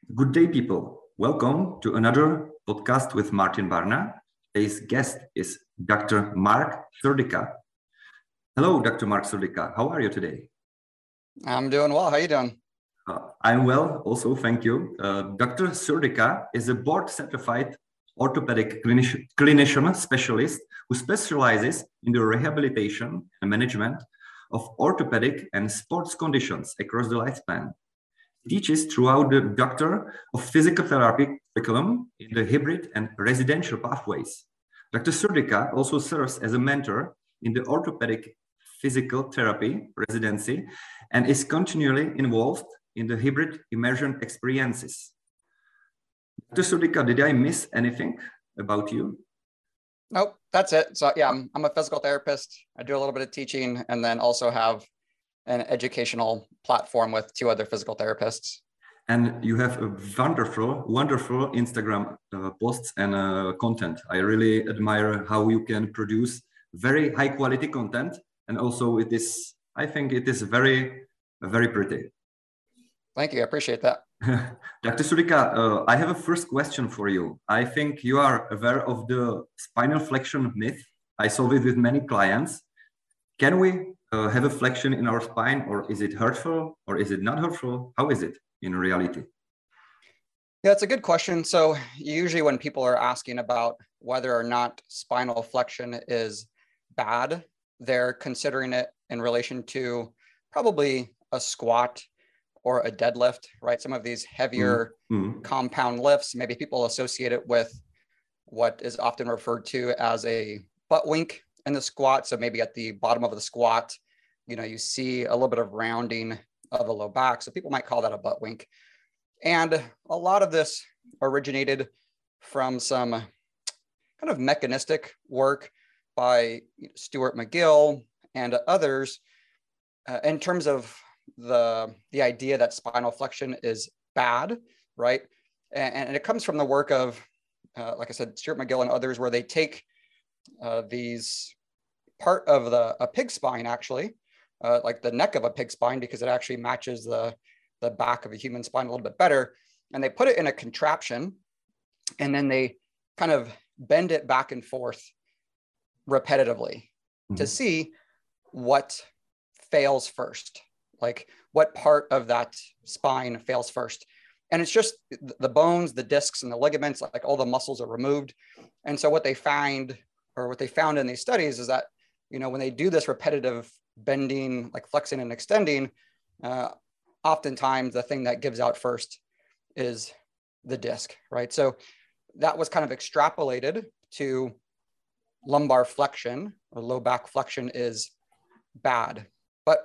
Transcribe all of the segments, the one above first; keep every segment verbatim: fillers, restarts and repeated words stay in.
Good day, people. Welcome to another podcast with Martin Barna. Today's guest is Doctor Mark Serdica. Hello, Doctor Mark Serdica. How are you today? I'm doing well. How are you doing? Uh, I'm well, also, thank you. Uh, Doctor Serdica is a board-certified orthopedic clinician, clinician specialist who specializes in the rehabilitation and management of orthopedic and sports conditions across the lifespan. He teaches throughout the Doctor of Physical Therapy curriculum in the hybrid and residential pathways. Doctor Serdica also serves as a mentor in the orthopedic physical therapy residency and is continually involved in the hybrid immersion experiences. Doctor Serdica, did I miss anything about you? Nope, that's it. So yeah, I'm, I'm a physical therapist. I do a little bit of teaching and then also have an educational platform with two other physical therapists. And you have a wonderful, wonderful Instagram uh, posts and uh, content. I really admire how you can produce very high quality content. And also it is, I think it is very, very pretty. Thank you. I appreciate that. Doctor Serdica, uh, I have a first question for you. I think you are aware of the spinal flexion myth. I solve it with many clients. Can we uh, have a flexion in our spine, or is it hurtful, or is it not hurtful? How is it in reality? Yeah, it's a good question. So usually when people are asking about whether or not spinal flexion is bad, they're considering it in relation to probably a squat or a deadlift, right? Some of these heavier mm-hmm. compound lifts, maybe people associate it with what is often referred to as a butt wink in the squat. So maybe at the bottom of the squat, you know, you see a little bit of rounding of the low back. So people might call that a butt wink. And a lot of this originated from some kind of mechanistic work by Stuart McGill and others uh, in terms of the, the idea that spinal flexion is bad, right? And, and it comes from the work of, uh, like I said, Stuart McGill and others, where they take uh, these part of the a pig spine, actually, uh, like the neck of a pig spine, because it actually matches the, the back of a human spine a little bit better. And they put it in a contraption, and then they kind of bend it back and forth repetitively mm-hmm. to see what fails first, like what part of that spine fails first. And it's just the bones, the discs, and the ligaments, like all the muscles are removed. And so what they find, or what they found in these studies, is that, you know, when they do this repetitive bending, like flexing and extending, uh, oftentimes the thing that gives out first is the disc, right? So that was kind of extrapolated to lumbar flexion, or low back flexion is bad. But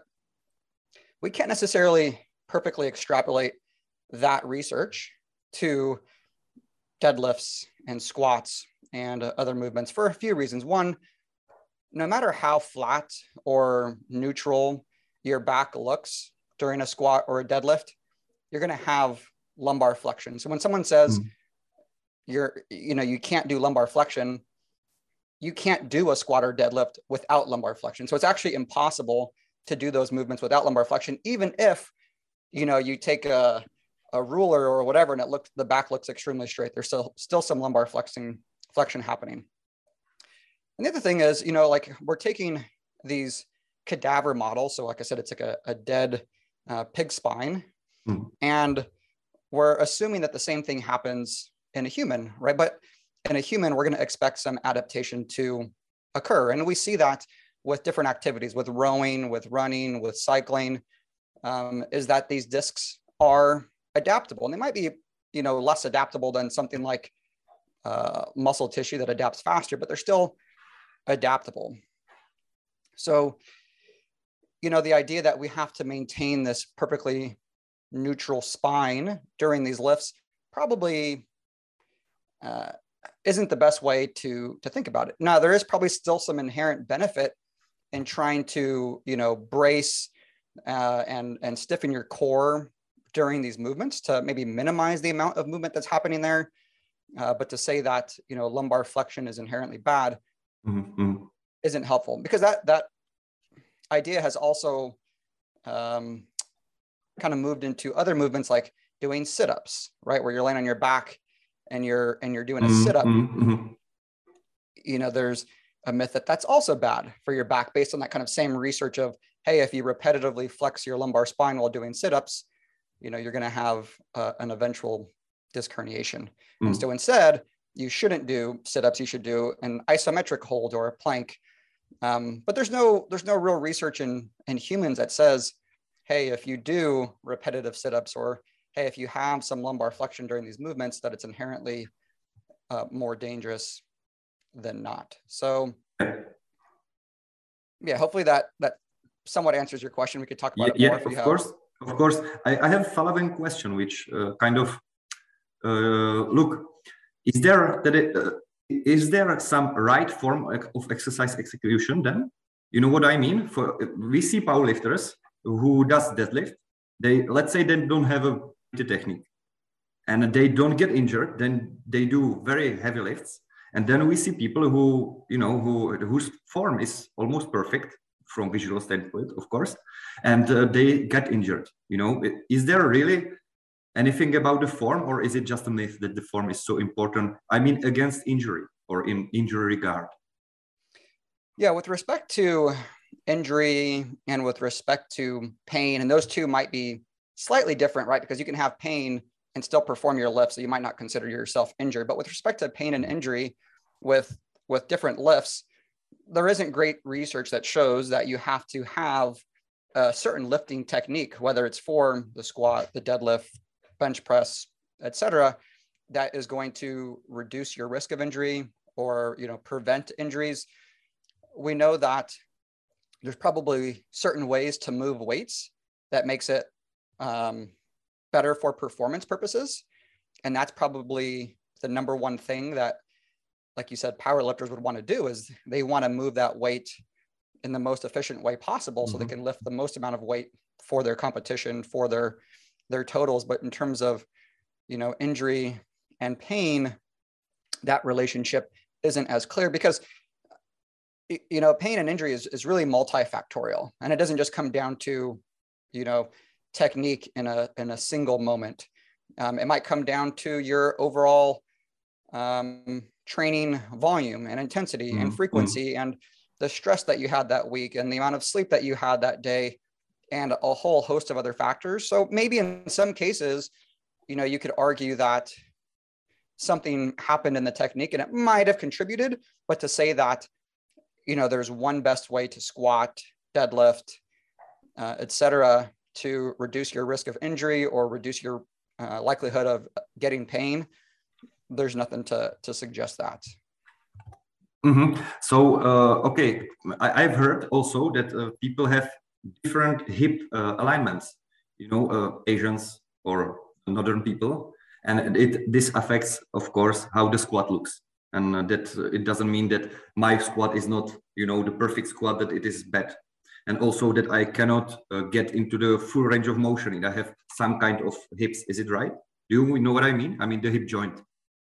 we can't necessarily perfectly extrapolate that research to deadlifts and squats and uh, other movements for a few reasons. One, no matter how flat or neutral your back looks during a squat or a deadlift, you're going to have lumbar flexion. So when someone says mm. you're, you know, you can't do lumbar flexion, you can't do a squat or deadlift without lumbar flexion. So it's actually impossible to do those movements without lumbar flexion, even if, you know, you take a, a ruler or whatever, and it looks, the back looks extremely straight. There's still, still some lumbar flexing, flexion happening. And the other thing is, you know, like we're taking these cadaver models. So like I said, it's like a, a dead uh, pig spine. Mm. And we're assuming that the same thing happens in a human, right? But in a human, we're going to expect some adaptation to occur. And we see that with different activities, with rowing, with running, with cycling, um, is that these discs are adaptable. And they might be, you know, less adaptable than something like uh, muscle tissue that adapts faster, but they're still adaptable. So, you know, the idea that we have to maintain this perfectly neutral spine during these lifts probably uh, isn't the best way to, to think about it. Now, there is probably still some inherent benefit in trying to, you know, brace uh, and, and stiffen your core during these movements to maybe minimize the amount of movement that's happening there. Uh, but to say that, you know, lumbar flexion is inherently bad mm-hmm. isn't helpful, because that, that idea has also um, kind of moved into other movements like doing sit-ups, right? Where you're laying on your back and you're, and you're doing a Mm-hmm. sit-up. Mm-hmm. You know, there's a myth that that's also bad for your back based on that kind of same research of, hey, if you repetitively flex your lumbar spine while doing sit-ups, you know, you're going to have uh, an eventual disc herniation. Mm. And so instead, you shouldn't do sit-ups. You should do an isometric hold or a plank. Um, but there's no there's no real research in in humans that says, hey, if you do repetitive sit-ups, or hey, if you have some lumbar flexion during these movements, that it's inherently uh, more dangerous than not. So yeah, hopefully that that somewhat answers your question. We could talk about yeah, it more. Yeah, if of you course, have. of course. I, I have following question, which uh, kind of uh, look, is there that it, uh, is there some right form of exercise execution then? You know what I mean? For we see powerlifters who does deadlift. They, let's say they don't have a technique and they don't get injured. Then they do very heavy lifts. And then we see people who, you know, who whose form is almost perfect from visual standpoint, of course, and uh, they get injured. You know, is there really anything about the form, or is it just a myth that the form is so important? I mean, against injury or in injury regard? Yeah, with respect to injury and with respect to pain, and those two might be slightly different, right? Because you can have pain and still perform your lift, so you might not consider yourself injured. But with respect to pain and injury with, with different lifts, there isn't great research that shows that you have to have a certain lifting technique, whether it's for the squat, the deadlift, bench press, et cetera, that is going to reduce your risk of injury or, you know, prevent injuries. We know that there's probably certain ways to move weights that makes it um, better for performance purposes. And that's probably the number one thing that, like you said, power lifters would want to do, is they want to move that weight in the most efficient way possible, mm-hmm. so they can lift the most amount of weight for their competition, for their, their totals. But in terms of, you know, injury and pain, that relationship isn't as clear, because, you know, pain and injury is, is really multifactorial. And it doesn't just come down to, you know, technique in a, in a single moment. Um, it might come down to your overall um, training volume and intensity mm-hmm. and frequency, and the stress that you had that week and the amount of sleep that you had that day, and a whole host of other factors. So maybe in some cases, you know, you could argue that something happened in the technique and it might have contributed, but to say that, you know, there's one best way to squat, deadlift, uh, et cetera, to reduce your risk of injury or reduce your uh, likelihood of getting pain, there's nothing to, to suggest that. Mm-hmm. So, uh, okay, I, I've heard also that uh, people have different hip uh, alignments, you know, uh, Asians or northern people, and it this affects, of course, how the squat looks. And uh, that uh, it doesn't mean that my squat is not, you know, the perfect squat, that it is bad. And also that I cannot uh, get into the full range of motion and I have some kind of hips. Is it right? Do you know what I mean? I mean, the hip joint.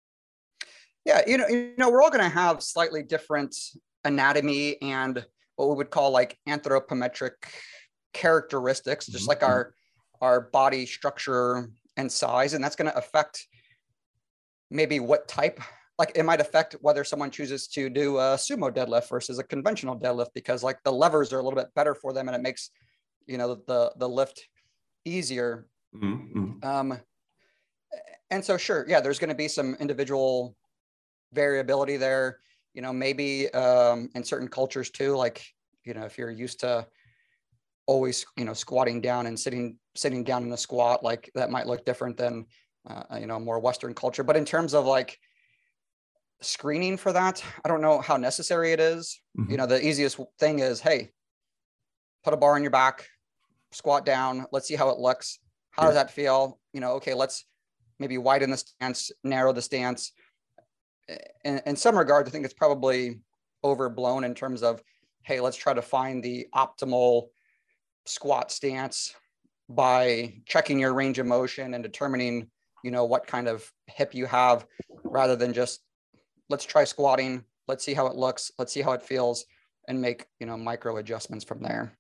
Yeah, you know, you know, we're all going to have slightly different anatomy and what we would call like anthropometric characteristics, just mm-hmm. like our, our body structure and size. And that's going to affect maybe what type. Like it might affect whether someone chooses to do a sumo deadlift versus a conventional deadlift, because like the levers are a little bit better for them and it makes, you know, the, the lift easier. Mm-hmm. Um, and so, sure. Yeah, there's going to be some individual variability there, you know, maybe um, in certain cultures too, like, you know, if you're used to always, you know, squatting down and sitting, sitting down in a squat, like that might look different than, uh, you know, more Western culture. But in terms of like screening for that, I don't know how necessary it is. Mm-hmm. You know, the easiest thing is, hey, put a bar on your back, squat down. Let's see how it looks. How yeah. does that feel? You know, okay, let's maybe widen the stance, narrow the stance. In, in some regards, I think it's probably overblown in terms of, hey, let's try to find the optimal squat stance by checking your range of motion and determining, you know, what kind of hip you have, rather than just, let's try squatting. Let's see how it looks. Let's see how it feels, and make, you know, micro adjustments from there.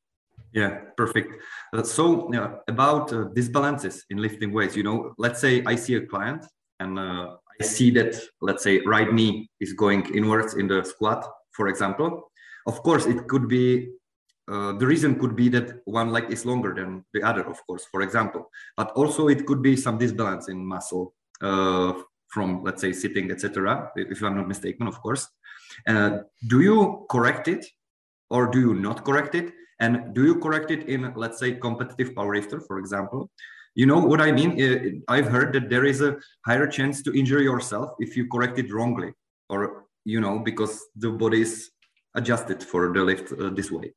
Yeah, perfect. Uh, so uh, about uh, disbalances in lifting weights, you know, let's say I see a client and uh, I see that, let's say, right knee is going inwards in the squat, for example. Of course, it could be, uh, the reason could be that one leg is longer than the other, of course, for example. But also it could be some disbalance in muscle uh, from, let's say, sitting, et cetera, if I'm not mistaken, of course. Uh, do you correct it or do you not correct it? And do you correct it in, let's say, competitive powerlifter, for example? You know what I mean? I've heard that there is a higher chance to injure yourself if you correct it wrongly, or, you know, because the body is adjusted for the lift uh, this way.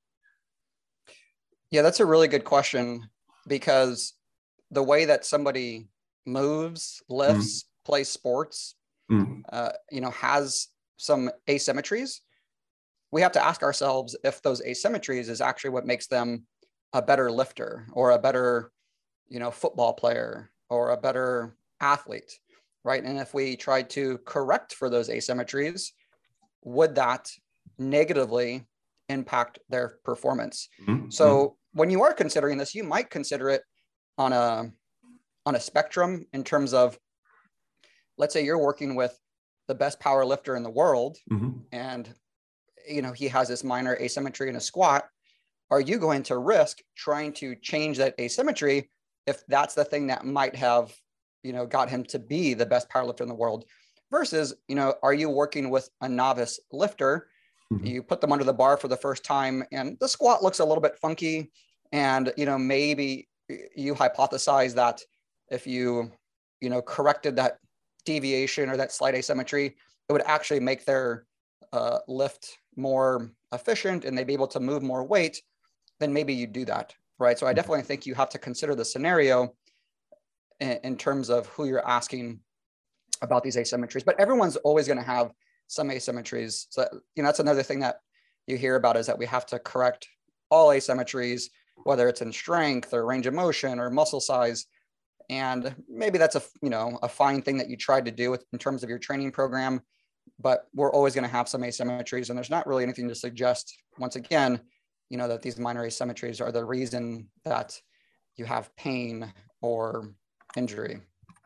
Yeah, that's a really good question, because the way that somebody moves, lifts, mm. plays sports, mm. uh, you know, has some asymmetries. We have to ask ourselves if those asymmetries is actually what makes them a better lifter or a better, you know, football player or a better athlete, right? And if we try to correct for those asymmetries, would that negatively impact their performance? Mm-hmm. So when you are considering this, you might consider it on a, on a spectrum in terms of, let's say you're working with the best power lifter in the world, mm-hmm. and you know, he has this minor asymmetry in a squat. Are you going to risk trying to change that asymmetry if that's the thing that might have, you know, got him to be the best powerlifter in the world? Versus, you know, are you working with a novice lifter? Mm-hmm. You put them under the bar for the first time and the squat looks a little bit funky. And, you know, maybe you hypothesize that if you, you know, corrected that deviation or that slight asymmetry, it would actually make their uh, lift more efficient and they'd be able to move more weight, then maybe you do that, right? So I definitely think you have to consider the scenario in, in terms of who you're asking about these asymmetries, but everyone's always going to have some asymmetries. So, you know, that's another thing that you hear about, is that we have to correct all asymmetries, whether it's in strength or range of motion or muscle size. And maybe that's a, you know, a fine thing that you tried to do with, in terms of your training program, but we're always going to have some asymmetries, and there's not really anything to suggest, once again, you know, that these minor asymmetries are the reason that you have pain or injury.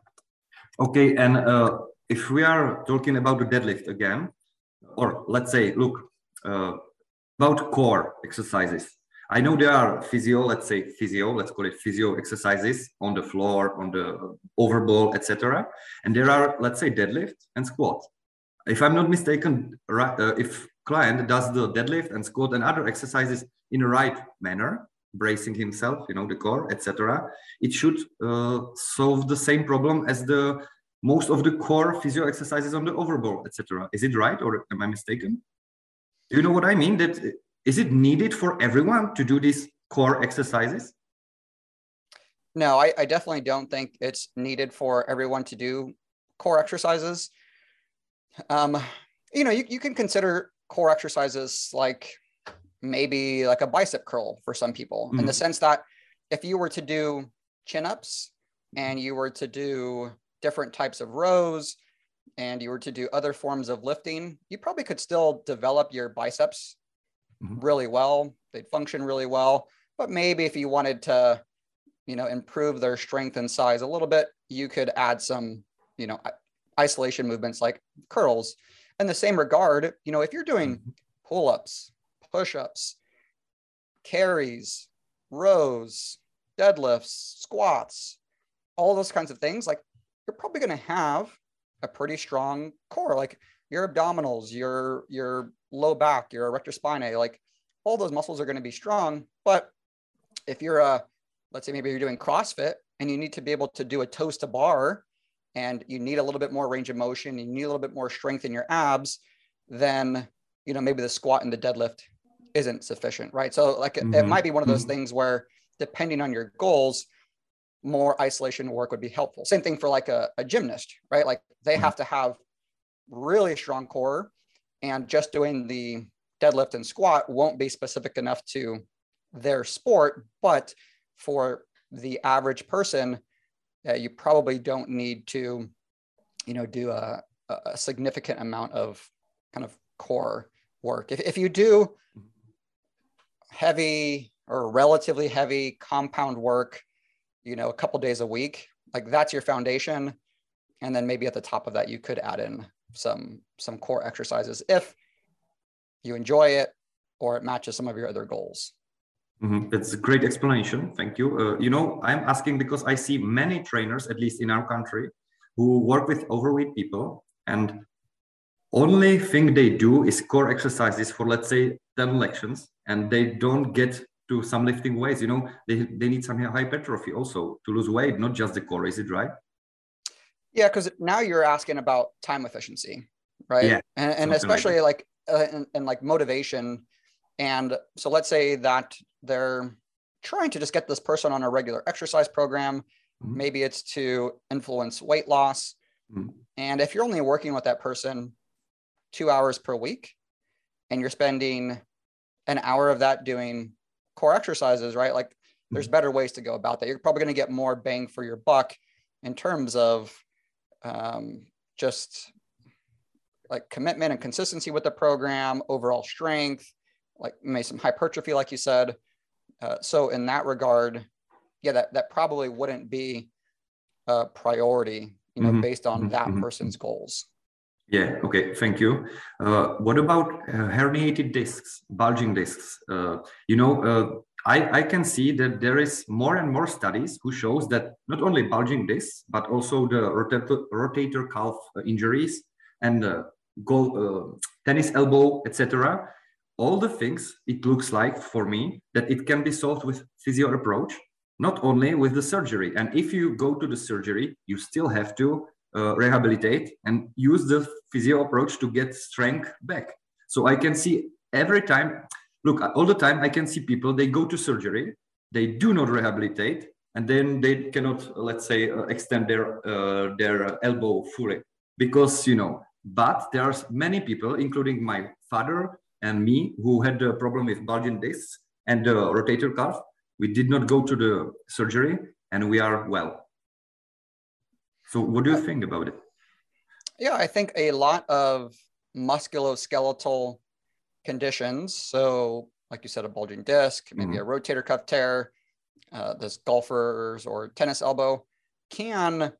Okay, and uh, if we are talking about the deadlift again, or let's say, look, uh, about core exercises. I know there are physio, let's say physio, let's call it physio exercises on the floor, on the overball, et cetera. And there are, let's say, deadlift and squat. If I'm not mistaken, right, uh, if client does the deadlift and squat and other exercises in a right manner, bracing himself, you know, the core, et cetera, it should uh, solve the same problem as the most of the core physio exercises on the overball, et cetera. Is it right, or am I mistaken? Do you know what I mean? That is it needed for everyone to do these core exercises? No, I, I definitely don't think it's needed for everyone to do core exercises. Um, you know, you, you can consider core exercises like maybe like a bicep curl for some people, mm-hmm. in the sense that if you were to do chin-ups and you were to do different types of rows and you were to do other forms of lifting, you probably could still develop your biceps mm-hmm. really well. They'd function really well. But maybe if you wanted to, you know, improve their strength and size a little bit, you could add some, you know, isolation movements like curls. In the same regard, you know, if you're doing pull-ups, push-ups, carries, rows, deadlifts, squats, all those kinds of things, like you're probably going to have a pretty strong core, like your abdominals, your, your low back, your erector spinae, like all those muscles are going to be strong. But if you're a, let's say maybe you're doing CrossFit and you need to be able to do a toes to bar, and you need a little bit more range of motion, you need a little bit more strength in your abs, then, you know, maybe the squat and the deadlift isn't sufficient, right? So like mm-hmm. it might be one of those mm-hmm. things where, depending on your goals, more isolation work would be helpful. Same thing for like a, a gymnast, right? Like they mm-hmm. have to have really strong core, and just doing the deadlift and squat won't be specific enough to their sport. But for the average person, Uh, you probably don't need to, you know, do a, a significant amount of kind of core work. If, if you do heavy or relatively heavy compound work, you know, a couple days a week, like that's your foundation. And then maybe at the top of that, you could add in some, some core exercises if you enjoy it or it matches some of your other goals. Mm-hmm. That's a great explanation. Thank you. Uh, you know, I'm asking because I see many trainers, at least in our country, who work with overweight people, and only thing they do is core exercises for, let's say, ten lections, and they don't get to some lifting weights. You know, they, they need some hypertrophy also to lose weight, not just the core. Is it right? Yeah, because now you're asking about time efficiency, right? Yeah, and, and especially like, like uh, and, and like motivation. And so let's say that they're trying to just get this person on a regular exercise program. Mm-hmm. Maybe it's to influence weight loss. Mm-hmm. And if you're only working with that person two hours per week, and you're spending an hour of that doing core exercises, right? Like there's mm-hmm. better ways to go about that. You're probably going to get more bang for your buck in terms of um, just like commitment and consistency with the program, overall strength, like maybe some hypertrophy, like you said. Uh, so in that regard, yeah, that, that probably wouldn't be a priority, you know, mm-hmm. based on mm-hmm. that person's goals. Yeah. Okay. Thank you. Uh, what about uh, herniated discs, bulging discs? Uh, you know, uh, I, I can see that there is more and more studies who shows that not only bulging discs, but also the rotator, rotator cuff injuries and uh, goal, uh, tennis elbow, et cetera. All the things, it looks like for me that it can be solved with physio approach, not only with the surgery. And if you go to the surgery, you still have to uh, rehabilitate and use the physio approach to get strength back. So I can see every time, look, all the time I can see people, they go to surgery, they do not rehabilitate, and then they cannot, let's say, uh, extend their, uh, their elbow fully. Because, you know, but there are many people, including my father and me, who had a problem with bulging discs and the uh, rotator cuff. We did not go to the surgery and we are well. So what do you think about it? Yeah, I think a lot of musculoskeletal conditions, so like you said, a bulging disc, maybe mm-hmm. a rotator cuff tear, uh, this golfers or tennis elbow, can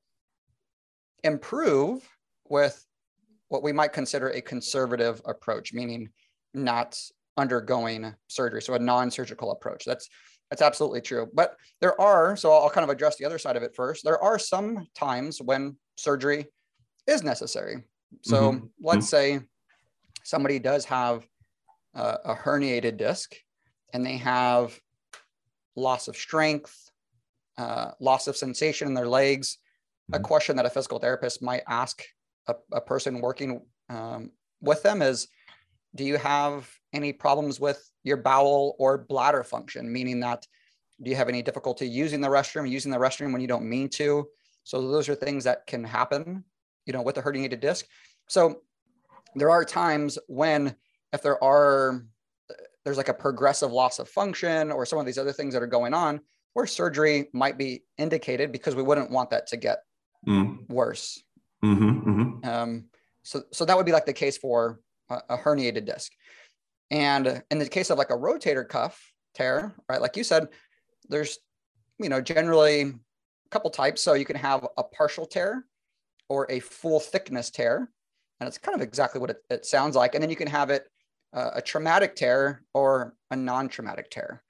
improve with what we might consider a conservative approach, meaning not undergoing surgery. So a non-surgical approach. That's that's absolutely true. But there are, so I'll kind of address the other side of it first. There are some times when surgery is necessary. So mm-hmm. let's say somebody does have uh, a herniated disc and they have loss of strength, uh, loss of sensation in their legs. Mm-hmm. A question that a physical therapist might ask a, a person working um, with them is, do you have any problems with your bowel or bladder function? Meaning that, do you have any difficulty using the restroom, using the restroom when you don't mean to? So those are things that can happen, you know, with a herniated disc. So there are times when, if there are, there's like a progressive loss of function or some of these other things that are going on, where surgery might be indicated because we wouldn't want that to get mm. worse. Mm-hmm, mm-hmm. Um, so, so that would be like the case for a, a herniated disc. And in the case of like a rotator cuff tear, right, like you said, there's, you know, generally a couple types. So you can have a partial tear or a full thickness tear. And it's kind of exactly what it, it sounds like. And then you can have it uh, a traumatic tear or a non-traumatic tear.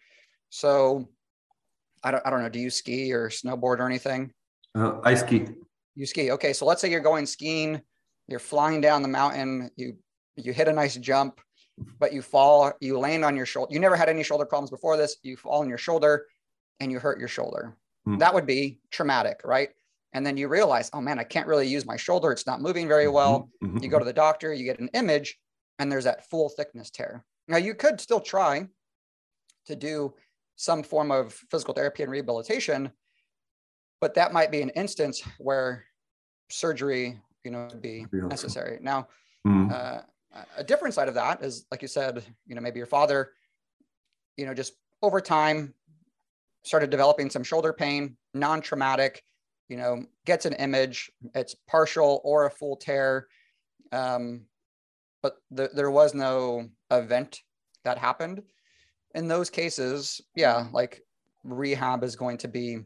So I don't, I don't know, do you ski or snowboard or anything? Uh, I ski. You ski. Okay. So let's say you're going skiing, you're flying down the mountain, you, you hit a nice jump, but you fall, you land on your shoulder. You never had any shoulder problems before this. You fall on your shoulder and you hurt your shoulder. Mm. That would be traumatic, right? And then you realize, oh man, I can't really use my shoulder. It's not moving very well. Mm-hmm. You go to the doctor, you get an image, and there's that full thickness tear. Now you could still try to do some form of physical therapy and rehabilitation, but that might be an instance where surgery, you know, would be necessary. Now, mm. uh, a different side of that is, like you said, you know, maybe your father, you know, just over time started developing some shoulder pain, non-traumatic, you know, gets an image, it's partial or a full tear. Um, but th- there was no event that happened. in those cases, yeah, like rehab is going to be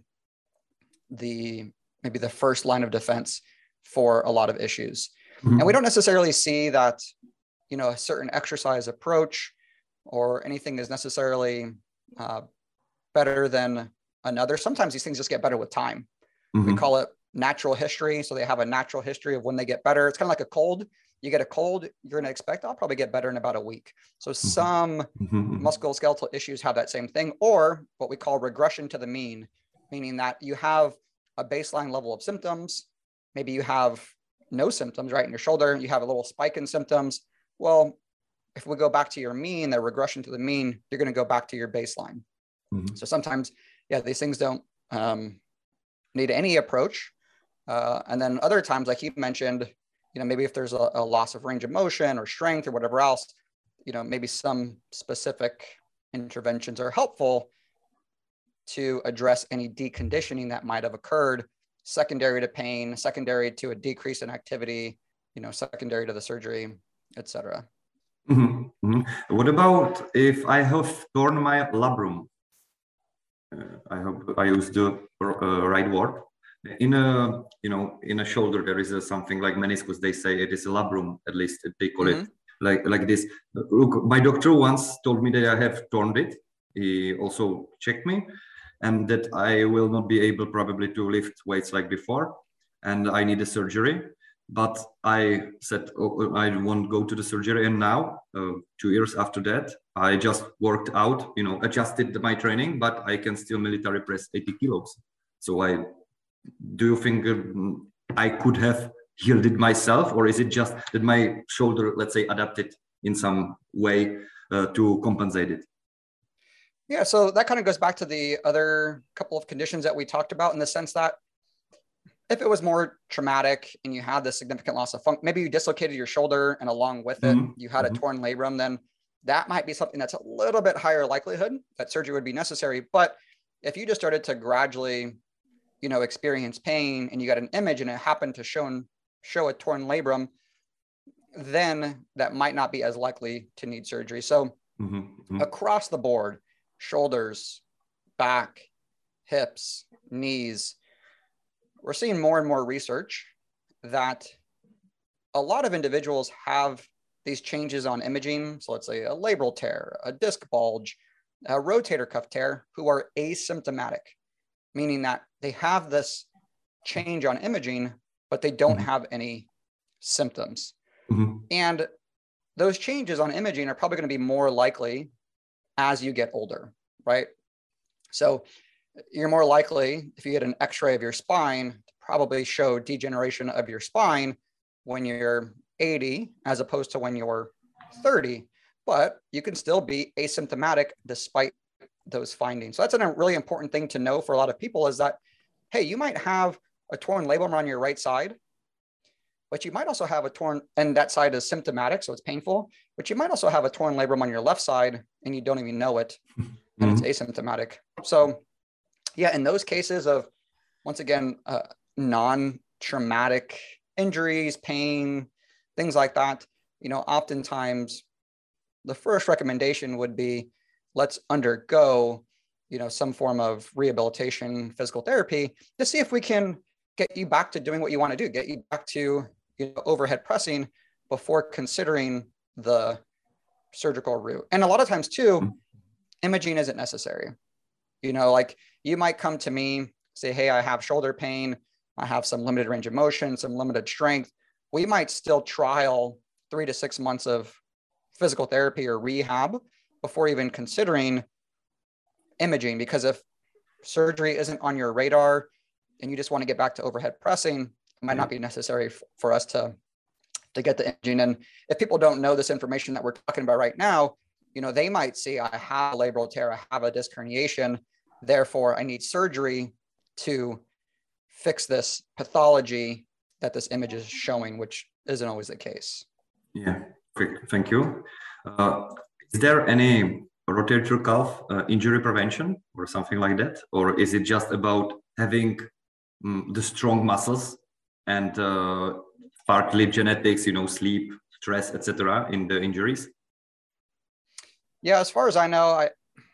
the maybe the first line of defense for a lot of issues. Mm-hmm. And we don't necessarily see that, you know, a certain exercise approach or anything is necessarily uh, better than another. Sometimes these things just get better with time. Mm-hmm. We call it natural history. So they have a natural history of when they get better. It's kind of like a cold. You get a cold, you're going to expect, I'll probably get better in about a week. So mm-hmm. some mm-hmm. musculoskeletal issues have that same thing, or what we call regression to the mean, meaning that you have a baseline level of symptoms. Maybe you have no symptoms, right? In your shoulder, you have a little spike in symptoms. Well, if we go back to your mean, the regression to the mean, you're going to go back to your baseline. Mm-hmm. So sometimes, yeah, these things don't um, need any approach. Uh, and then other times, like you mentioned, you know, maybe if there's a, a loss of range of motion or strength or whatever else, you know, maybe some specific interventions are helpful to address any deconditioning that might have occurred, secondary to pain, secondary to a decrease in activity, you know, secondary to the surgery, et cetera. Mm-hmm. Mm-hmm. What about if I have torn my labrum? Uh, I hope I used the uh, right word. In a, you know, in a shoulder, there is a, something like meniscus. They say it is a labrum, at least they call mm-hmm. it like, like this. Look, my doctor once told me that I have torn it. He also checked me and that I will not be able probably to lift weights like before. And I need a surgery. But I said, oh, I won't go to the surgery. And now, uh, two years after that, I just worked out, you know, adjusted my training, but I can still military press eighty kilos. So I, do you think um, I could have healed it myself, or is it just that my shoulder, let's say, adapted in some way uh, to compensate it? Yeah, so that kind of goes back to the other couple of conditions that we talked about, in the sense that if it was more traumatic and you had this significant loss of function, maybe you dislocated your shoulder and along with it, mm-hmm. you had mm-hmm. a torn labrum, then that might be something that's a little bit higher likelihood that surgery would be necessary. But if you just started to gradually, you know, experience pain and you got an image and it happened to show, show a torn labrum, then that might not be as likely to need surgery. So mm-hmm. Mm-hmm. across the board, shoulders, back, hips, knees, we're seeing more and more research that a lot of individuals have these changes on imaging. So let's say a labral tear, a disc bulge, a rotator cuff tear, who are asymptomatic, meaning that they have this change on imaging, but they don't mm-hmm. have any symptoms. Mm-hmm. And those changes on imaging are probably going to be more likely as you get older, right? So you're more likely, if you get an x-ray of your spine, to probably show degeneration of your spine when you're eighty, as opposed to when you're thirty, but you can still be asymptomatic despite those findings. So that's a really important thing to know for a lot of people, is that, hey, you might have a torn labrum on your right side, but you might also have a torn, and that side is symptomatic, so it's painful, but you might also have a torn labrum on your left side and you don't even know it, and mm-hmm. it's asymptomatic. So yeah, in those cases of, once again, uh, non-traumatic injuries, pain, things like that, you know, oftentimes the first recommendation would be, let's undergo, you know, some form of rehabilitation, physical therapy, to see if we can get you back to doing what you want to do, get you back to, you know, overhead pressing before considering the surgical route. And a lot of times too, imaging isn't necessary. You know, like you might come to me, say, hey, I have shoulder pain, I have some limited range of motion, some limited strength. We might still trial three to six months of physical therapy or rehab before even considering imaging, because if surgery isn't on your radar and you just want to get back to overhead pressing, it might not be necessary f- for us to, to get the imaging. And if people don't know this information that we're talking about right now, you know, they might see, I have a labral tear, I have a disc herniation, therefore I need surgery to fix this pathology that this image is showing, which isn't always the case. Yeah, quick, thank you. Uh, is there any rotator cuff uh, injury prevention or something like that? Or is it just about having um, the strong muscles and uh, partly genetics, you know, sleep, stress, et cetera in the injuries? Yeah, as far as I know, I,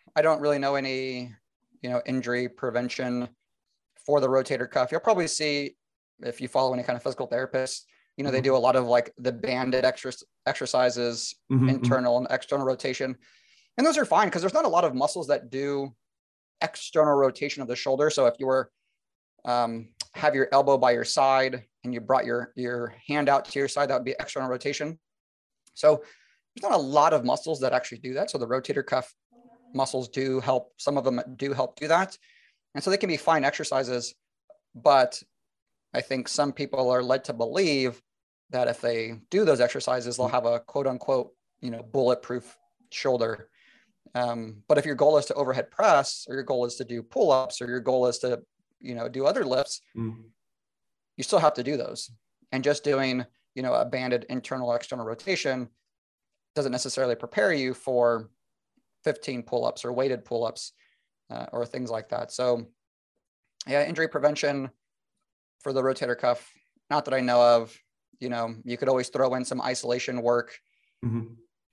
I don't really know any, you know, injury prevention for the rotator cuff. You'll probably see, if you follow any kind of physical therapist, you know, they do a lot of like the banded extra exercises, Mm-hmm. internal and external rotation. And those are fine because there's not a lot of muscles that do external rotation of the shoulder. So if you were um, have your elbow by your side and you brought your, your hand out to your side, that would be external rotation. So there's not a lot of muscles that actually do that. So the rotator cuff muscles do help. Some of them do help do that. And so they can be fine exercises, but I think some people are led to believe that if they do those exercises, they'll have a quote unquote, you know, bulletproof shoulder. Um, but if your goal is to overhead press, or your goal is to do pull-ups, or your goal is to, you know, do other lifts, mm-hmm. you still have to do those. And just doing, you know, a banded internal external rotation doesn't necessarily prepare you for fifteen pull-ups or weighted pull-ups uh, or things like that. So yeah, injury prevention for the rotator cuff, not that I know of. You know, you could always throw in some isolation work mm-hmm.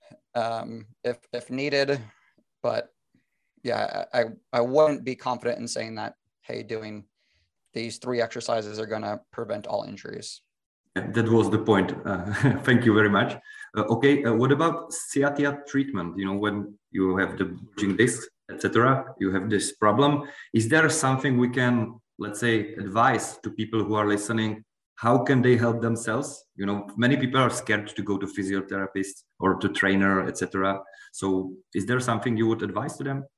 um, if if needed, but yeah, I I wouldn't be confident in saying that, hey, doing these three exercises are going to prevent all injuries. That was the point. Uh, thank you very much. Uh, okay, uh, what about sciatica treatment? You know, when you have the bulging disc, et cetera, you have this problem. Is there something we can, let's say, advise to people who are listening? How can they help themselves? You know, many people are scared to go to physiotherapists or to trainer, et cetera. So, is there something you would advise to them?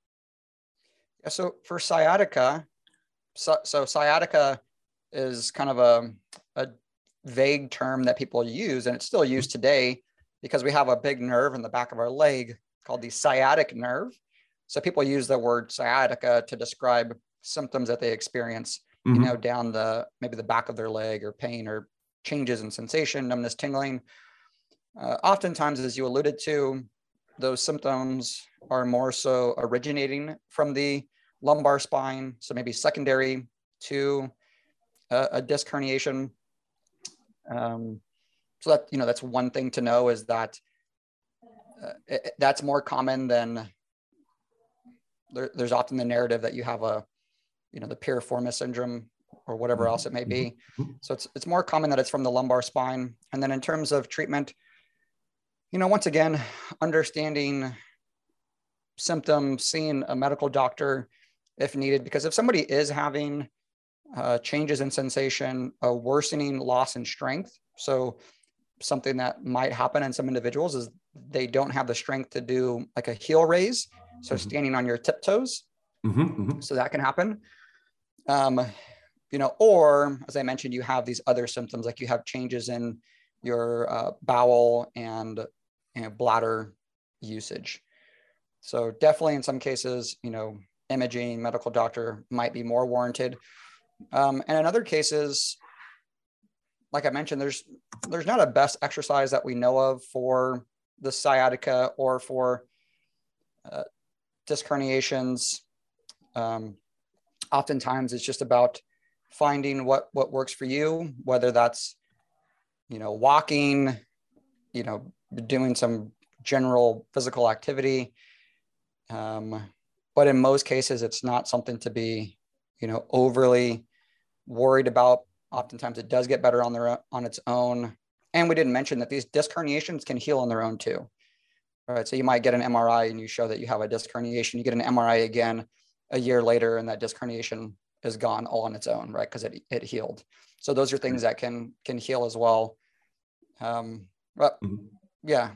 Yeah. So for sciatica, so, so sciatica is kind of a, a vague term that people use, and it's still used today because we have a big nerve in the back of our leg called the sciatic nerve. So people use the word sciatica to describe symptoms that they experience, mm-hmm. you know, down the, maybe the back of their leg, or pain or changes in sensation, numbness, tingling. Uh, oftentimes, as you alluded to, those symptoms are more so originating from the lumbar spine. So maybe secondary to a, a disc herniation. Um, so that, you know, that's one thing to know, is that uh, it, that's more common than there, there's often the narrative that you have a, you know, the piriformis syndrome or whatever else it may be. So it's, it's more common that it's from the lumbar spine. And then in terms of treatment, you know, once again, understanding symptoms, seeing a medical doctor if needed, because if somebody is having uh, changes in sensation, a worsening loss in strength, so something that might happen in some individuals is they don't have the strength to do like a heel raise, so mm-hmm. standing on your tiptoes. Mm-hmm, mm-hmm. So that can happen. Um, you know, or as I mentioned, you have these other symptoms, like you have changes in your uh, bowel and, you know, bladder usage. So definitely in some cases, you know, imaging, medical doctor might be more warranted. Um, and in other cases, like I mentioned, there's there's not a best exercise that we know of for the sciatica or for uh, disc herniations. Um, oftentimes, it's just about finding what what works for you, whether that's, you know, walking, you know, doing some general physical activity. Um, but in most cases, it's not something to be, you know, overly worried about. Oftentimes it does get better on their on its own. And we didn't mention that these disc herniations can heal on their own too. All right. So you might get an M R I and you show that you have a disc herniation. You get an M R I again a year later, and that disc herniation is gone all on its own, right? Because it, it healed. So those are things that can can heal as well. Um, but mm-hmm. yeah,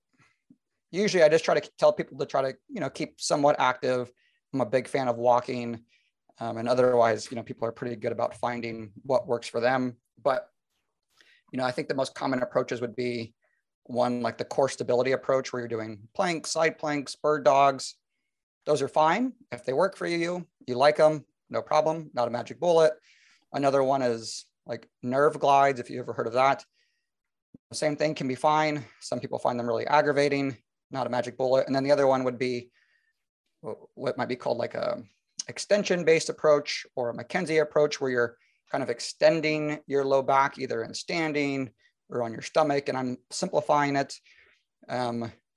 usually I just try to tell people to try to, you know, keep somewhat active. I'm a big fan of walking. Um, and otherwise, you know, people are pretty good about finding what works for them. But, you know, I think the most common approaches would be one like the core stability approach, where you're doing planks, side planks, bird dogs. Those are fine. If they work for you, you like them, no problem, not a magic bullet. Another one is like nerve glides, if you ever heard of that. The same thing, can be fine. Some people find them really aggravating, not a magic bullet. And then the other one would be what might be called like a extension-based approach, or a McKenzie approach, where you're kind of extending your low back either in standing or on your stomach. And I'm simplifying it. Um,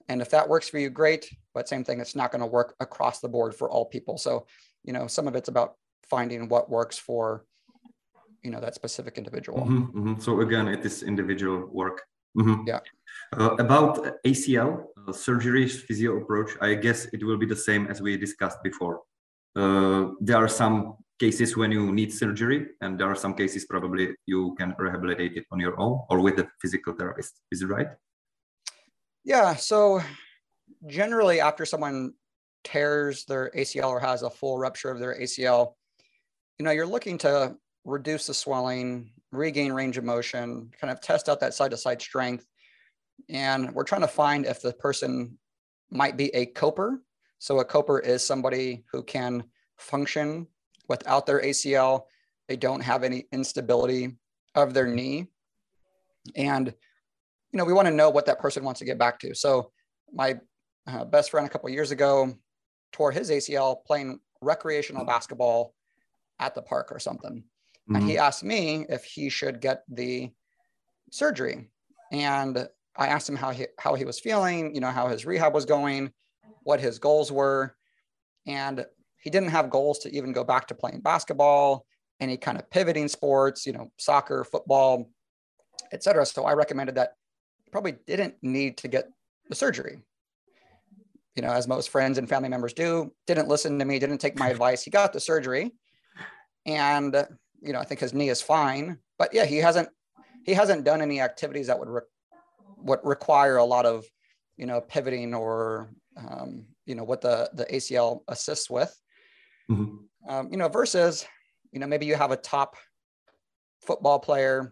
And if that works for you, great. But same thing, it's not going to work across the board for all people. So, you know, some of it's about finding what works for, you know, that specific individual. Mm-hmm, mm-hmm. So again, it is individual work. Mm-hmm. Yeah. Uh, about A C L, uh, surgery physio approach, I guess it will be the same as we discussed before. Uh, there are some cases when you need surgery, and there are some cases probably you can rehabilitate it on your own or with a physical therapist. Is it right? Yeah. So generally, after someone tears their A C L or has a full rupture of their A C L, you know, you're looking to reduce the swelling, regain range of motion, kind of test out that side-to-side strength. And we're trying to find if the person might be a coper. So a coper is somebody who can function without their A C L. They don't have any instability of their knee. And, you know, we want to know what that person wants to get back to. So my uh, best friend a couple of years ago tore his A C L playing recreational basketball at the park or something. Mm-hmm. And he asked me if he should get the surgery. And I asked him how he, how he was feeling, you know, how his rehab was going, what his goals were. And he didn't have goals to even go back to playing basketball, any kind of pivoting sports, you know, soccer, football, et cetera. So I recommended that he probably didn't need to get the surgery. You know, as most friends and family members do, didn't listen to me, didn't take my advice. He got the surgery. And, you know, I think his knee is fine, but yeah, he hasn't, he hasn't done any activities that would, re- would require a lot of, you know, pivoting or, um, you know, what the, the A C L assists with, mm-hmm. um, you know, versus, you know, maybe you have a top football player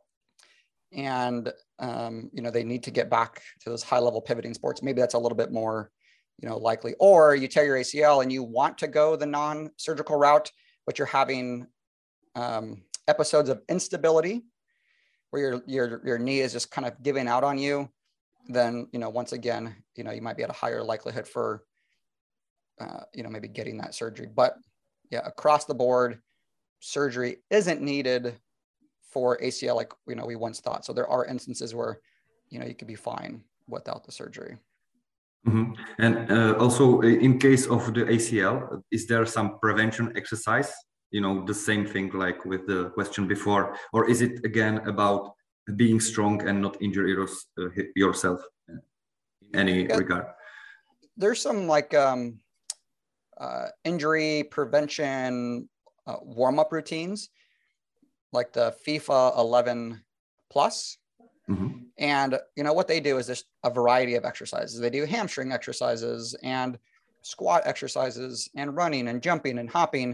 and, um, you know, they need to get back to those high level pivoting sports. Maybe that's a little bit more, you know, likely, or you tear your A C L and you want to go the non-surgical route, but you're having um, episodes of instability where your, your, your knee is just kind of giving out on you, then, you know, once again, you know, you might be at a higher likelihood for, uh, you know, maybe getting that surgery. But yeah, across the board, surgery isn't needed for A C L like, you know, we once thought. So there are instances where, you know, you could be fine without the surgery. Mm-hmm. And uh, also in case of the A C L, is there some prevention exercise? You know, the same thing like with the question before, or is it again about being strong and not injure yours, uh, yourself in any yeah. regard? There's some like um, uh, injury prevention uh, warm-up routines, like the FIFA eleven plus. Mm-hmm. And, you know, what they do is just a variety of exercises. They do hamstring exercises and squat exercises and running and jumping and hopping,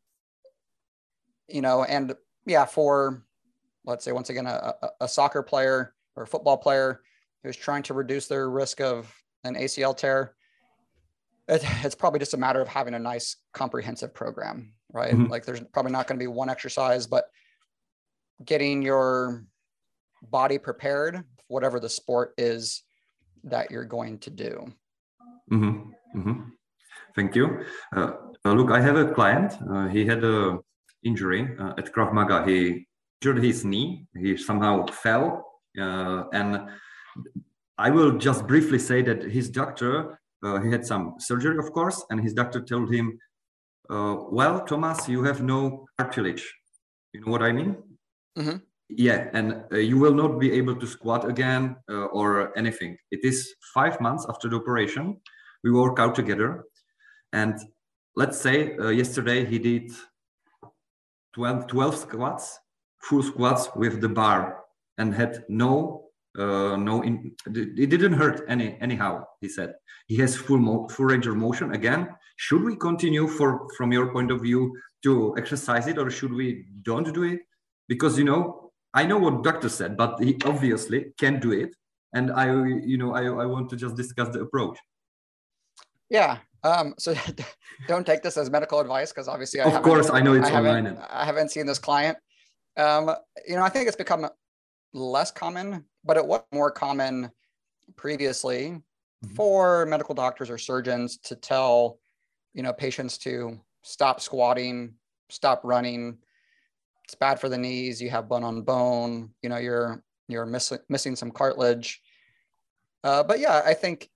you know, and yeah, for, let's say, once again, a, a soccer player or a football player who's trying to reduce their risk of an A C L tear, it, it's probably just a matter of having a nice comprehensive program, right? Mm-hmm. Like there's probably not going to be one exercise, but getting your body prepared, whatever the sport is that you're going to do. Mm-hmm. Mm-hmm. Thank you. Uh, uh, look, I have a client. Uh, he had a injury uh, at Krav Maga. He injured his knee. He somehow fell. Uh, and I will just briefly say that his doctor, uh, he had some surgery, of course, and his doctor told him, uh, well, Thomas, you have no cartilage. You know what I mean? Mm-hmm. Yeah, and uh, you will not be able to squat again uh, or anything. It is five months after the operation. We work out together. And let's say uh, yesterday he did twelve, twelve squats, full squats with the bar and had no, uh, no, in, it didn't hurt any anyhow, he said. He has full, mo full range of motion again. Should we continue for, from your point of view to exercise it, or should we don't do it? Because, you know, I know what doctor said, but he obviously can do it. And I, you know, I, I want to just discuss the approach. Yeah. Um, so don't take this as medical advice, because obviously, I of course, I know it's I online. Haven't, I haven't seen this client. Um, you know, I think it's become less common, but it was more common previously mm-hmm. for medical doctors or surgeons to tell, you know, patients to stop squatting, stop running. It's bad for the knees. You have bone on bone, you know, you're, you're missing, missing some cartilage. Uh, but yeah, I think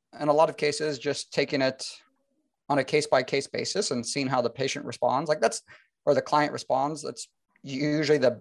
in a lot of cases, just taking it on a case-by-case basis and seeing how the patient responds, like that's, or the client responds, that's usually the,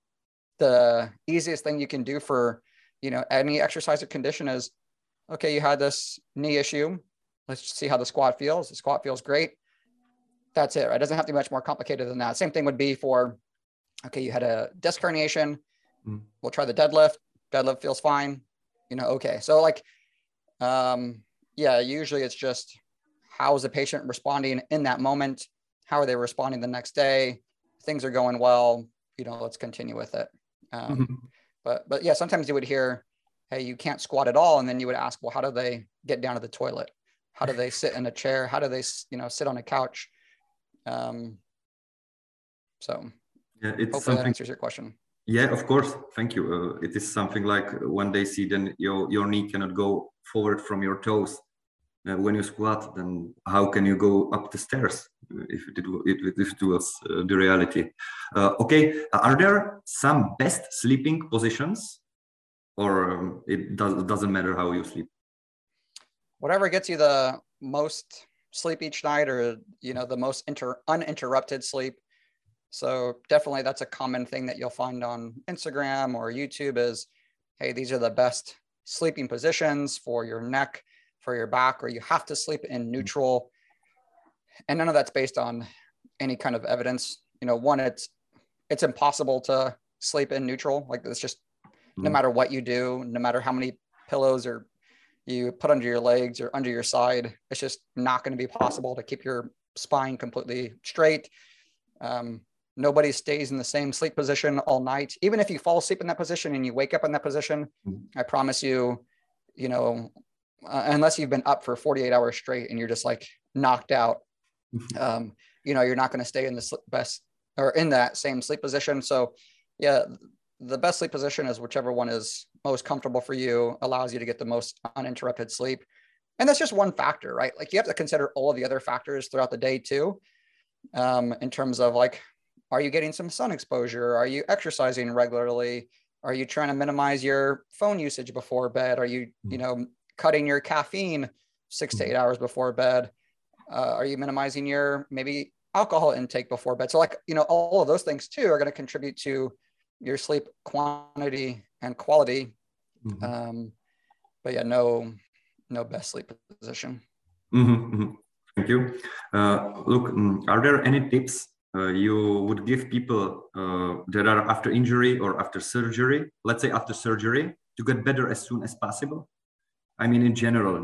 the easiest thing you can do for, you know, any exercise or condition is, okay, you had this knee issue. Let's see how the squat feels. The squat feels great. That's it, right? It doesn't have to be much more complicated than that. Same thing would be for, okay, you had a disc herniation. Mm. We'll try the deadlift. Deadlift feels fine. You know, okay. So like, um, yeah, usually it's just, how is the patient responding in that moment? How are they responding the next day? Things are going well, you know, let's continue with it. Um, mm-hmm. But, but yeah, sometimes you would hear, hey, you can't squat at all. And then you would ask, well, how do they get down to the toilet? How do they sit in a chair? How do they, you know, sit on a couch? Um, so yeah, it's hopefully that answers your question. Yeah, of course. Thank you. Uh, it is something like when they see then your, your knee cannot go forward from your toes. Uh, when you squat, then how can you go up the stairs if it, it, if it was uh, the reality? Uh, okay, are there some best sleeping positions, or um, it does, doesn't matter how you sleep? Whatever gets you the most sleep each night, or, you know, the most inter uninterrupted sleep. So definitely that's a common thing that you'll find on Instagram or YouTube is, hey, these are the best sleeping positions for your neck, for your back, or you have to sleep in neutral. And none of that's based on any kind of evidence. You know, one, it's, it's impossible to sleep in neutral. Like it's just, mm-hmm. no matter what you do, no matter how many pillows or you put under your legs or under your side, it's just not going to be possible to keep your spine completely straight. Um, nobody stays in the same sleep position all night. Even if you fall asleep in that position and you wake up in that position, mm-hmm. I promise you, you know, uh, unless you've been up for forty-eight hours straight and you're just like knocked out, um, you know, you're not going to stay in the best or in that same sleep position. So yeah, the best sleep position is whichever one is most comfortable for you, allows you to get the most uninterrupted sleep. And that's just one factor, right? Like you have to consider all of the other factors throughout the day too, um, in terms of like, are you getting some sun exposure? Are you exercising regularly? Are you trying to minimize your phone usage before bed? Are you, you know, cutting your caffeine six to eight hours before bed? Uh, are you minimizing your maybe alcohol intake before bed? So like, you know, all of those things too are going to contribute to your sleep quantity and quality. Mm-hmm. Um, but yeah, no, no best sleep position. Mm-hmm, mm-hmm. Thank you. Uh, look, are there any tips uh, you would give people uh, that are after injury or after surgery, let's say after surgery, to get better as soon as possible? I mean, in general.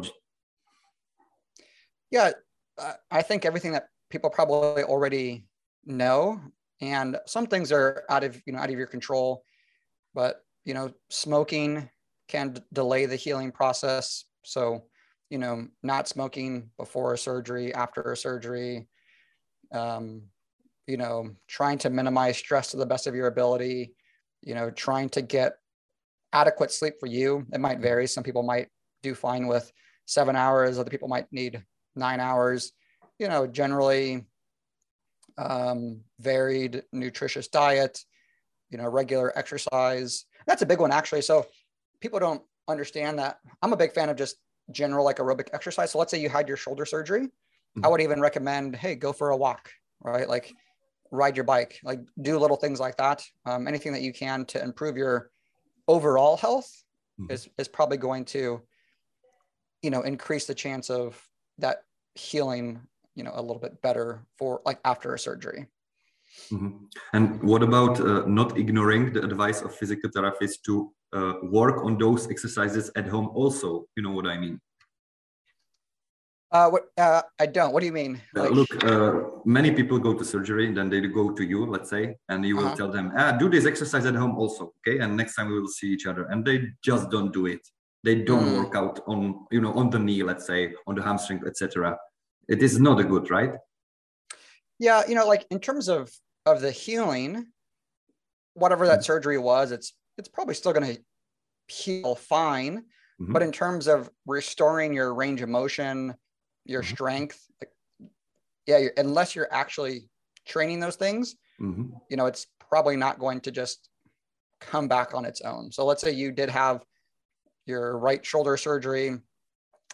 Yeah, I think everything that people probably already know, and some things are out of, you know, out of your control, but, you know, smoking can d- delay the healing process. So, you know, not smoking before a surgery, after a surgery, um, you know, trying to minimize stress to the best of your ability, you know, trying to get adequate sleep for you. It might vary. Some people might do fine with seven hours. Other people might need nine hours, you know, generally um, varied, nutritious diet, you know, regular exercise. That's a big one actually. So people don't understand that. I'm a big fan of just general like aerobic exercise. So let's say you had your shoulder surgery. Mm-hmm. I would even recommend, hey, go for a walk, right? Like ride your bike, like do little things like that. Um, anything that you can to improve your overall health mm-hmm. is, is probably going to, you know, increase the chance of that healing, you know, a little bit better for like after a surgery. Mm-hmm. And what about uh, not ignoring the advice of physical therapists to uh, work on those exercises at home also? You know what I mean? Uh, what, uh, I don't. What do you mean? Like... Uh, look, uh, many people go to surgery, then they go to you, let's say, and you will uh-huh. tell them, ah, do this exercise at home also, okay? And next time we will see each other. And they just don't do it. They don't mm. work out on, you know, on the knee, let's say, on the hamstring, et cetera. It is not a good, right? Yeah, you know, like in terms of of the healing, whatever that mm-hmm. surgery was, it's it's probably still going to heal fine. Mm-hmm. But in terms of restoring your range of motion, your mm-hmm. strength, like, yeah, you're, unless you're actually training those things, mm-hmm. you know, it's probably not going to just come back on its own. So let's say you did have your right shoulder surgery,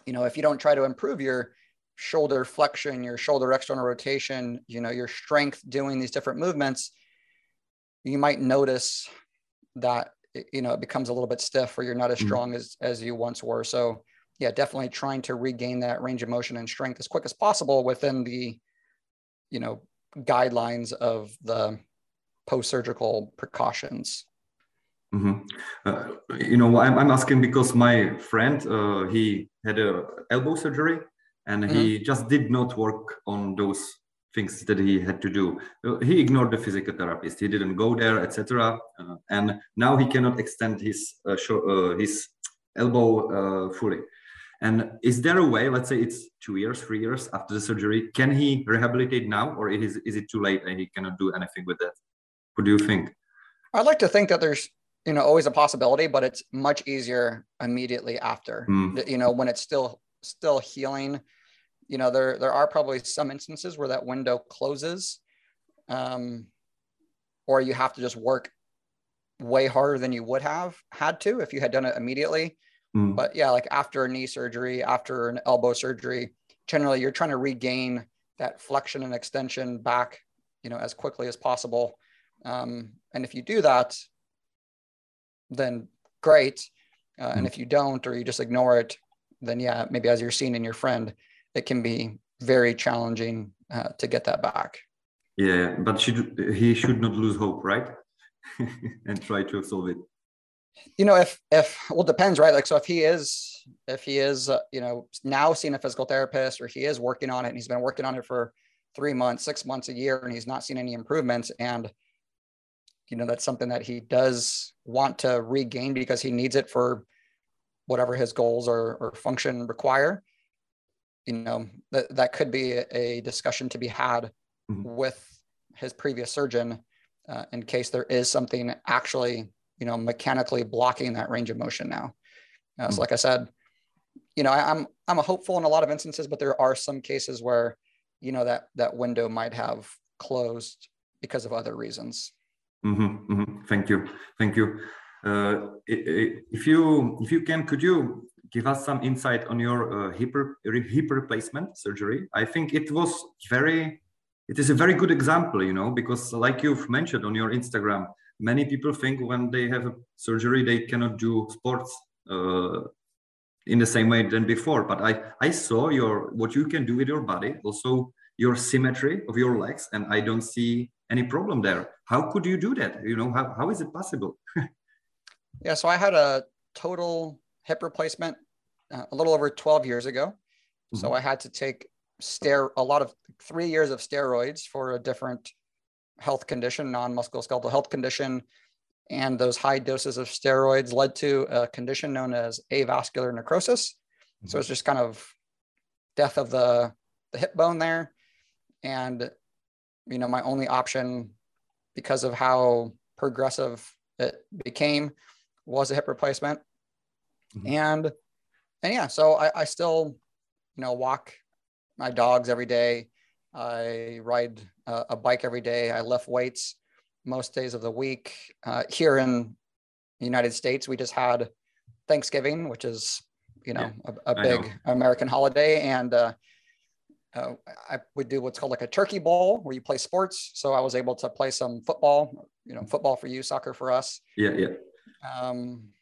you know, if you don't try to improve your shoulder flexion, your shoulder external rotation, you know, your strength doing these different movements, you might notice that, you know, it becomes a little bit stiff or you're not as strong mm. as, as you once were. So yeah, definitely trying to regain that range of motion and strength as quick as possible within the, you know, guidelines of the post-surgical precautions. Mm-hmm. Uh, you know, I'm, I'm asking because my friend, uh, he had a elbow surgery and mm-hmm. he just did not work on those things that he had to do. Uh, he ignored the physical therapist. He didn't go there, et cetera. Uh, and now he cannot extend his uh, show, uh, his elbow uh, fully. And is there a way, let's say it's two years, three years after the surgery, can he rehabilitate now, or is, is it too late and he cannot do anything with that? What do you think? I'd like to think that there's, you know, always a possibility, but it's much easier immediately after, mm. you know, when it's still, still healing. You know, there, there are probably some instances where that window closes, um, or you have to just work way harder than you would have had to if you had done it immediately. Mm. But yeah, like after a knee surgery, after an elbow surgery, generally you're trying to regain that flexion and extension back, you know, as quickly as possible. Um, and if you do that, then great. Uh, mm. And if you don't, or you just ignore it, then yeah, maybe as you're seeing in your friend, it can be very challenging uh, to get that back. Yeah, but should, he should not lose hope, right? And try to solve it. You know, if, if, well, depends, right? Like, so if he is, if he is, uh, you know, now seeing a physical therapist, or he is working on it and he's been working on it for three months, six months, a year, and he's not seen any improvements. And, you know, that's something that he does want to regain because he needs it for whatever his goals or, or function require. You know, that, that could be a discussion to be had mm-hmm. with his previous surgeon uh, in case there is something actually, you know, mechanically blocking that range of motion now. Uh, mm-hmm. So like I said, you know, I, I'm, I'm a hopeful in a lot of instances, but there are some cases where, you know, that, that window might have closed because of other reasons. Mm-hmm, mm-hmm. Thank you. Thank you. Uh, if you, if you can, could you give us some insight on your uh, hip, hip replacement surgery? I think it was very, it is a very good example, you know, because like you've mentioned on your Instagram, many people think when they have a surgery, they cannot do sports uh, in the same way than before. But I, I saw your, what you can do with your body, also your symmetry of your legs, and I don't see any problem there. How could you do that? You know, how, how is it possible? Yeah, so I had a total hip replacement uh, a little over twelve years ago. Mm-hmm. So I had to take stero a lot of three years of steroids for a different health condition, non-musculoskeletal health condition. And those high doses of steroids led to a condition known as avascular necrosis. Mm-hmm. So it's just kind of death of the, the hip bone there. And, you know, my only option, because of how progressive it became, was a hip replacement. Mm-hmm. And, and yeah, so I, I still, you know, walk my dogs every day. I ride a, a bike every day. I lift weights most days of the week. Uh, here in the United States, we just had Thanksgiving, which is, you know, yeah, a, a big know. American holiday. And uh, uh, I would do what's called like a turkey bowl where you play sports. So I was able to play some football, you know, football for you, soccer for us. Yeah, yeah. Um,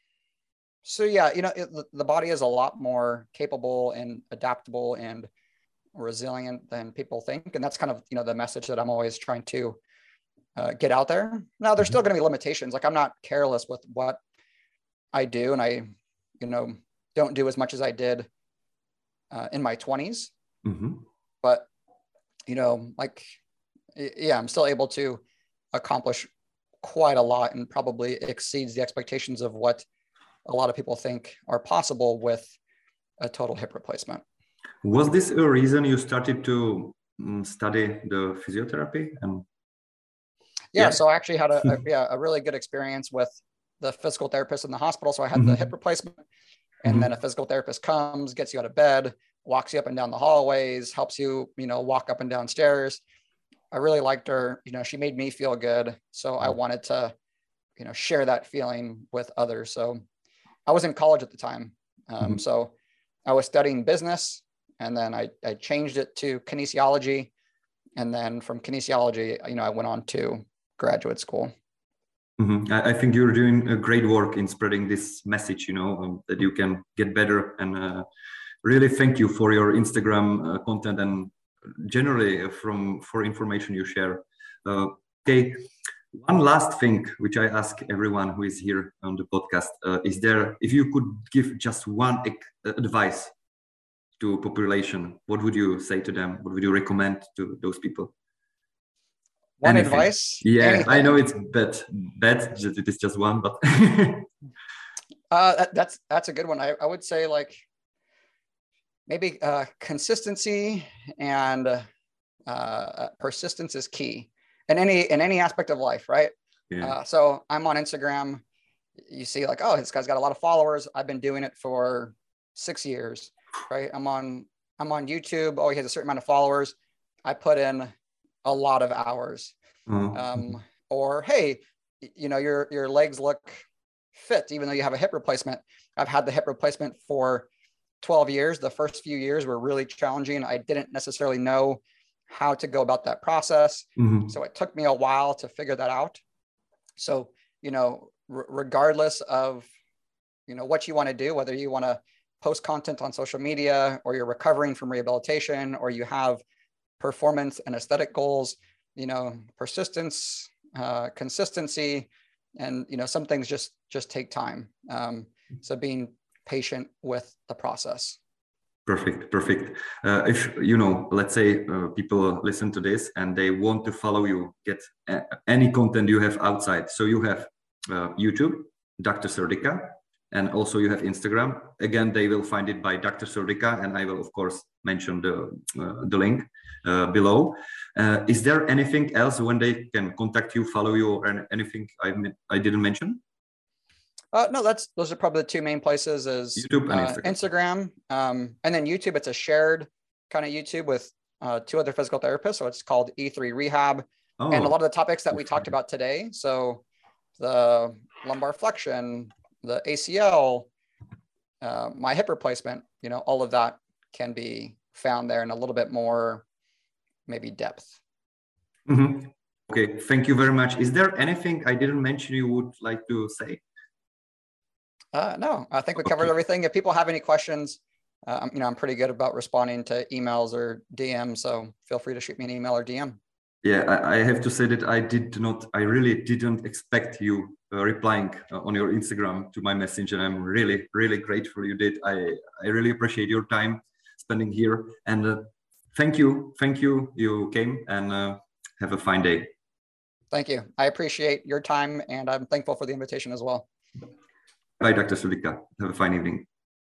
so yeah, you know, it, the body is a lot more capable and adaptable and resilient than people think. And that's kind of, you know, the message that I'm always trying to uh, get out there. Now, there's still going to be limitations. Like, I'm not careless with what I do. And I, you know, don't do as much as I did uh, in my twenties. Mm-hmm. But, you know, like, yeah, I'm still able to accomplish quite a lot and probably exceeds the expectations of what a lot of people think are possible with a total hip replacement. Was this a reason you started to um, study the physiotherapy? And yeah, yeah, so I actually had a, a yeah a really good experience with the physical therapist in the hospital. So I had mm-hmm. the hip replacement, and mm-hmm. then a physical therapist comes, gets you out of bed, walks you up and down the hallways, helps you, you know, walk up and down stairs. I really liked her. You know, she made me feel good. So I wanted to, you know, share that feeling with others. So I was in college at the time. Um, mm-hmm. So I was studying business, and then I, I changed it to kinesiology. And then from kinesiology, you know, I went on to graduate school. Mm-hmm. I, I think you're doing a great work in spreading this message, you know, um, that you can get better. And uh, really thank you for your Instagram uh, content and generally from for information you share. Uh, okay, one last thing which I ask everyone who is here on the podcast uh, is there, if you could give just one advice to population, what would you say to them? What would you recommend to those people? One Anything. advice? Yeah, Anything. I know it's bad, bad. It is just one, but uh, that, that's that's a good one. I, I would say like maybe uh, consistency and uh, persistence is key in any in any aspect of life, right? Yeah. Uh, so I'm on Instagram. You see, like, oh, this guy's got a lot of followers. I've been doing it for six years, right? I'm on I'm on YouTube. Oh, he has a certain amount of followers. I put in a lot of hours. Oh. Um, or hey, you know, your your legs look fit, even though you have a hip replacement. I've had the hip replacement for twelve years. The first few years were really challenging. I didn't necessarily know how to go about that process. Mm-hmm. So it took me a while to figure that out. So, you know, r- regardless of, you know, what you want to do, whether you want to post content on social media or you're recovering from rehabilitation or you have performance and aesthetic goals, you know, persistence, uh, consistency, and, you know, some things just, just take time. Um, so being patient with the process. Perfect, perfect. Uh, if, you know, let's say uh, people listen to this and they want to follow you, get a- any content you have outside. So you have uh, YouTube, Doctor Serdica, and also you have Instagram. Again, they will find it by Doctor Serdica, and I will, of course, mention the, uh, the link uh, below. Uh, is there anything else when they can contact you, follow you, or anything I, I didn't mention? Uh, no, that's those are probably the two main places is YouTube and uh, Instagram. Instagram. Um, and then YouTube, it's a shared kind of YouTube with uh, two other physical therapists. So it's called E three Rehab. Oh. And a lot of the topics that we talked about today. So the lumbar flexion, the A C L, uh, my hip replacement, you know, all of that can be found there in a little bit more maybe depth. Mm-hmm. Okay, thank you very much. Is there anything I didn't mention you would like to say? Uh, no, I think we covered okay. everything. If people have any questions, uh, you know, I'm pretty good about responding to emails or D Ms. So feel free to shoot me an email or D M. Yeah, I, I have to say that I did not, I really didn't expect you uh, replying uh, on your Instagram to my message. And I'm really, really grateful you did. I, I really appreciate your time spending here. And uh, thank you. Thank you. You came and uh, have a fine day. Thank you. I appreciate your time and I'm thankful for the invitation as well. Bye, Doctor Serdica. Have a fine evening.